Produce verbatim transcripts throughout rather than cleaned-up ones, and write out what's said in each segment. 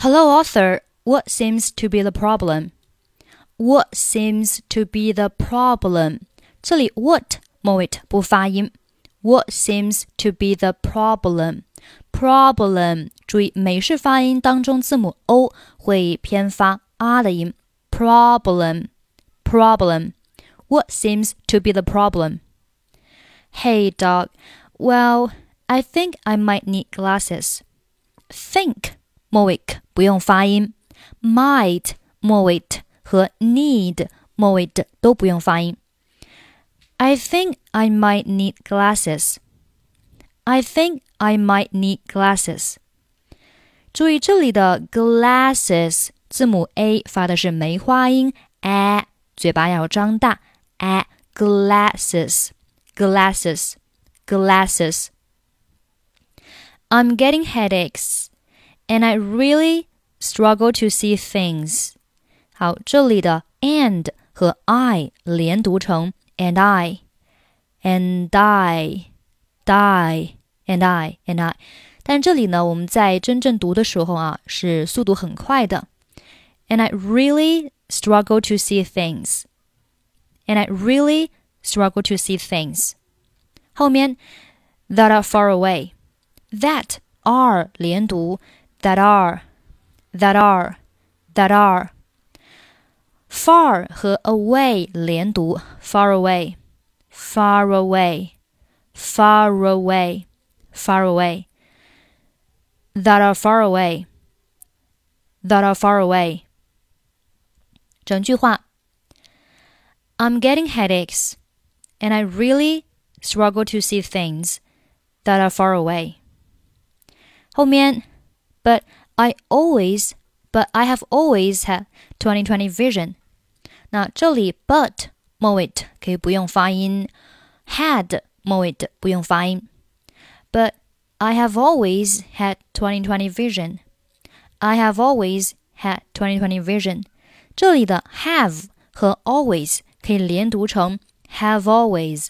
Hello, author. What seems to be the problem? What seems to be the problem? 这里 what 末尾不发音。What seems to be the problem? Problem 注意美式发音当中字母 O 会偏发 R 的音。Problem Problem What seems to be the problem? Hey, dog. Well, I think I might need glasses. Think 末尾不用发音。Might 末尾和 need 末尾的都不用发音。I think I might need glasses. I think I might need glasses. 注意这里的 glasses 字母 A 发的是梅花音 a， 嘴巴要张大 a glasses glasses glasses. I'm getting headaches and I really struggle to see things. 好，这里的 and 和 I 连读成 and I and I die and I and I， 但这里呢我们在真正读的时候啊是速度很快的。And I really struggle to see things. And I really struggle to see things. 后面 that are far away. That are 连读 that are that are that are far 和 away 连读 far away far away far away far away that are far away that are far away 整句话 I'm getting headaches and I really struggle to see things that are far away 后面 but I always but I have always had twenty twenty vision 那这里 but 末尾可以不用发音 had 末尾不用发音 but I have always had twenty twenty vision I have always had twenty twenty vision 这里的 have 和 always 可以连读成 have always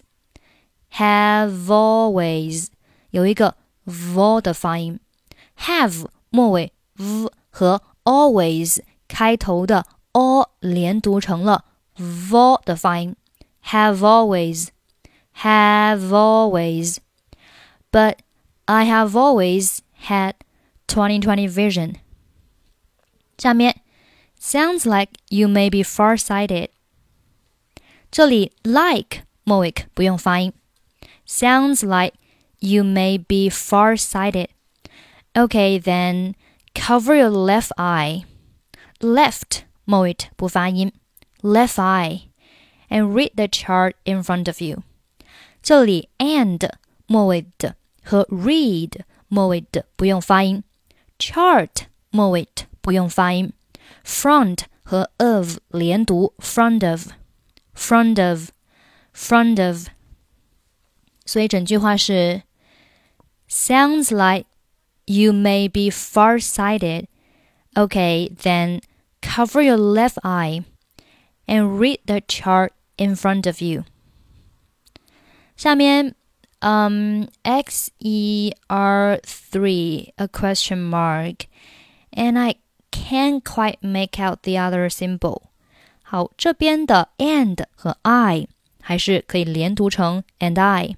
have always 有一个 v 的发音 have 末尾 v 和 always 开头的 o 连读成了 v 的发音 have always have always but I have always had twenty twenty vision 下面 sounds like you may be far-sighted 这里 like 末尾不用发音 sounds like you may be far-sighted Okay, then cover your left eye. Left 末尾不发音 left eye and read the chart in front of you. 这里 and 末尾的和 read 末尾的不用发音 chart 末尾不用发音 front 和 of 连读 front of front of front of 所以整句话是 sounds like You may be far-sighted. Okay, then cover your left eye and read the chart in front of you. 下面 um, X E R three, a question mark, and I can't quite make out the other symbol. 好，这边的 and 和 I 还是可以连读成 and I.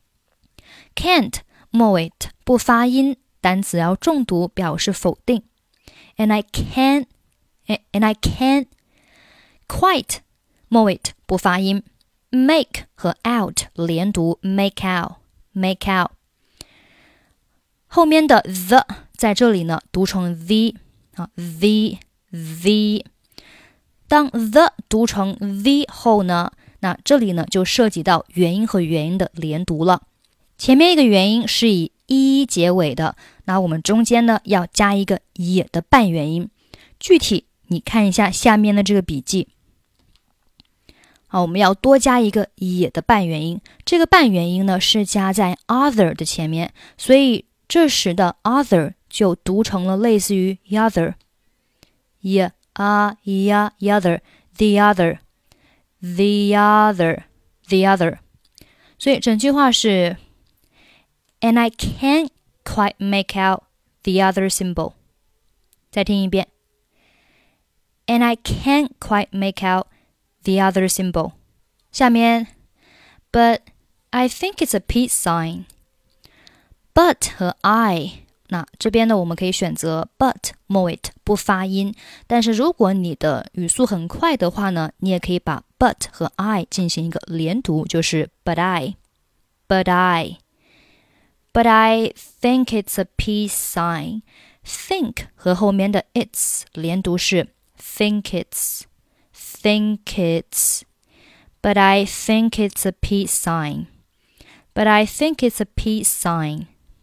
Can't 末尾不发音单词要重读表示否定 and I can't and I can't quite 末尾不发音 make 和 out 连读 make out make out 后面的 the 在这里呢读成 the 啊 the the 当 the 读成 the 后呢那这里呢就涉及到元音和元音的连读了前面一个元音是以一结尾的，那我们中间呢要加一个也的半元音。具体你看一下下面的这个笔记。好，我们要多加一个也的半元音。这个半元音呢是加在 other 的前面，所以这时的 other 就读成了类似于 other。也啊呀 other the other the other the other。所以整句话是And I can't quite make out the other symbol. 再听一遍。And I can't quite make out the other symbol. 下面 But I think it's a peace sign. But 和 I 那这边呢我们可以选择 but 末尾不发音，但是如果你的语速很快的话呢，你也可以把 but 和 I 进行一个连读，就是 but I But I But I think it's a peace sign. Think 和后面的 it's 连读是 think it's Think it's But I think it's a peace sign. But I think it's a peace sign.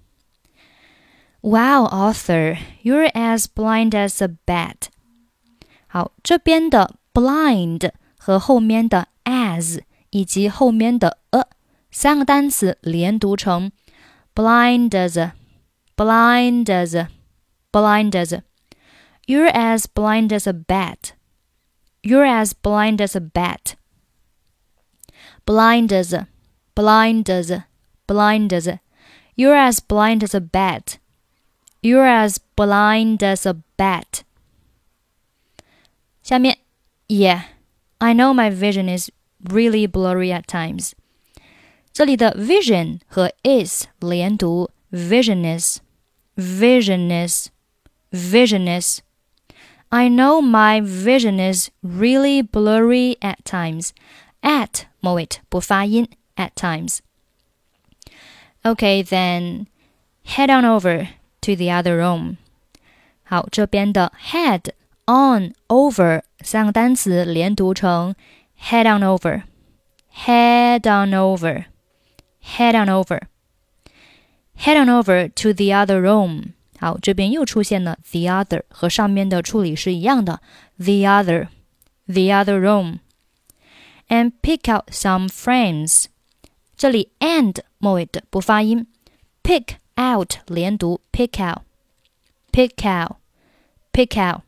Wow, Arthur, you're as blind as a bat. 好，这边的 blind 和后面的 as 以及后面的 a 三个单词连读成 blind as, blind as, blind as. You're as blind as a bat. You're as blind as a bat. Blind as, blind as, blind as. You're as blind as a bat. You're as blind as a bat. 下面 Yeah, I know my vision is really blurry at times. 这里的 vision 和 is 连读 vision is, vision is, vision is. I know my vision is really blurry at times. At 末尾不发音 at times. Okay, then head on over to the other room. 好，这边的 head, on, over 三个单词连读成 head on over, head on over, head on over, head on over to the other room. 好，这边又出现了 the other 和上面的处理是一样的 the other, the other room. And pick out some frames. 这里 and 末尾的不发音 pick out 连读 pick out, pick out, pick out.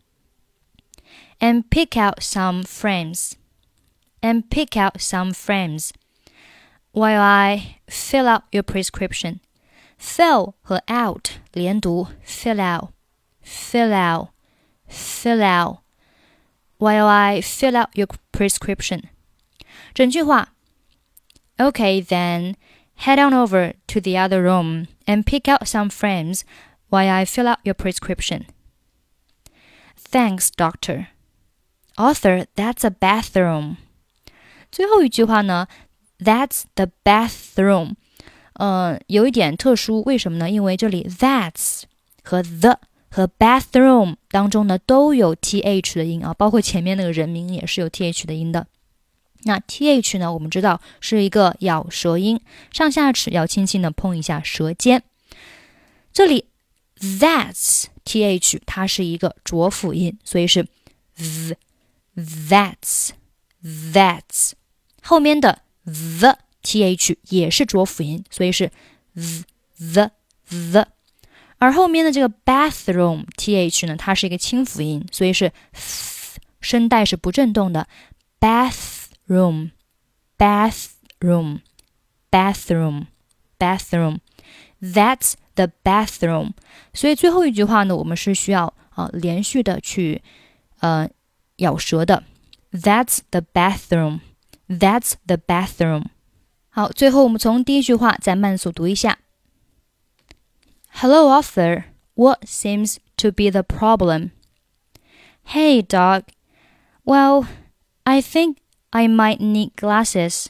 And pick out some frames. And pick out some frames. While I fill out your prescription. Fill 和 out 连读 fill out, fill out, fill out. While I fill out your prescription. 整句话 Okay, then head on over to the other room and pick out some frames while I fill out your prescription. Thanks, doctor. Arthur, that's a bathroom. 最后一句话呢 That's the bathroom. 呃，有一点特殊，为什么呢？因为这里 that's 和 the 和 bathroom 当中呢都有 th 的音啊，包括前面那个人名也是有 th 的音的。那 th 呢，我们知道是一个咬舌音，上下齿要轻轻的碰一下舌尖。这里 that's th 它是一个浊辅音，所以是 th, that's, that's。后面的 the th 也是浊辅音，所以是 th, the, the。而后面的这个 bathroom th 呢，它是一个清辅音，所以是 th, 声带是不振动的 bathroom, bathroom, bathroom, bathroom. That's the bathroom. 所以最后一句话呢，我们是需要、呃、连续的去呃咬舌的。That's the bathroom. That's the bathroom. 好，最后我们从第一句话再慢速读一下。Hello, Arthur. What seems to be the problem? Hey, Doc. Well, I think I might need glasses.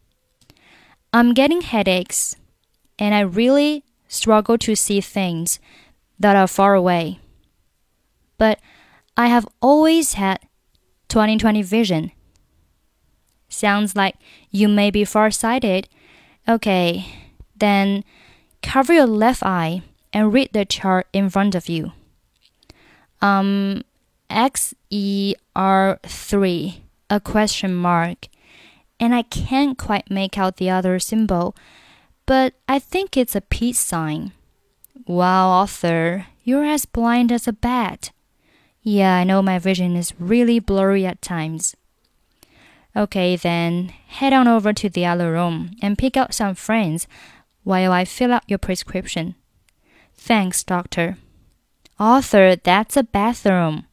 I'm getting headaches, and I really struggle to see things that are far away. But I have always had twenty twenty vision. Sounds like you may be farsighted. Okay, then cover your left eye and read the chart in front of you. Um, X E R three, a question mark. And I can't quite make out the other symbol, but I think it's a peace sign. Wow, Arthur, you're as blind as a bat. Yeah, I know my vision is really blurry at times. Okay, then head on over to the other room and pick out some frames while I fill out your prescription. Thanks, doctor. Arthur, that's a bathroom.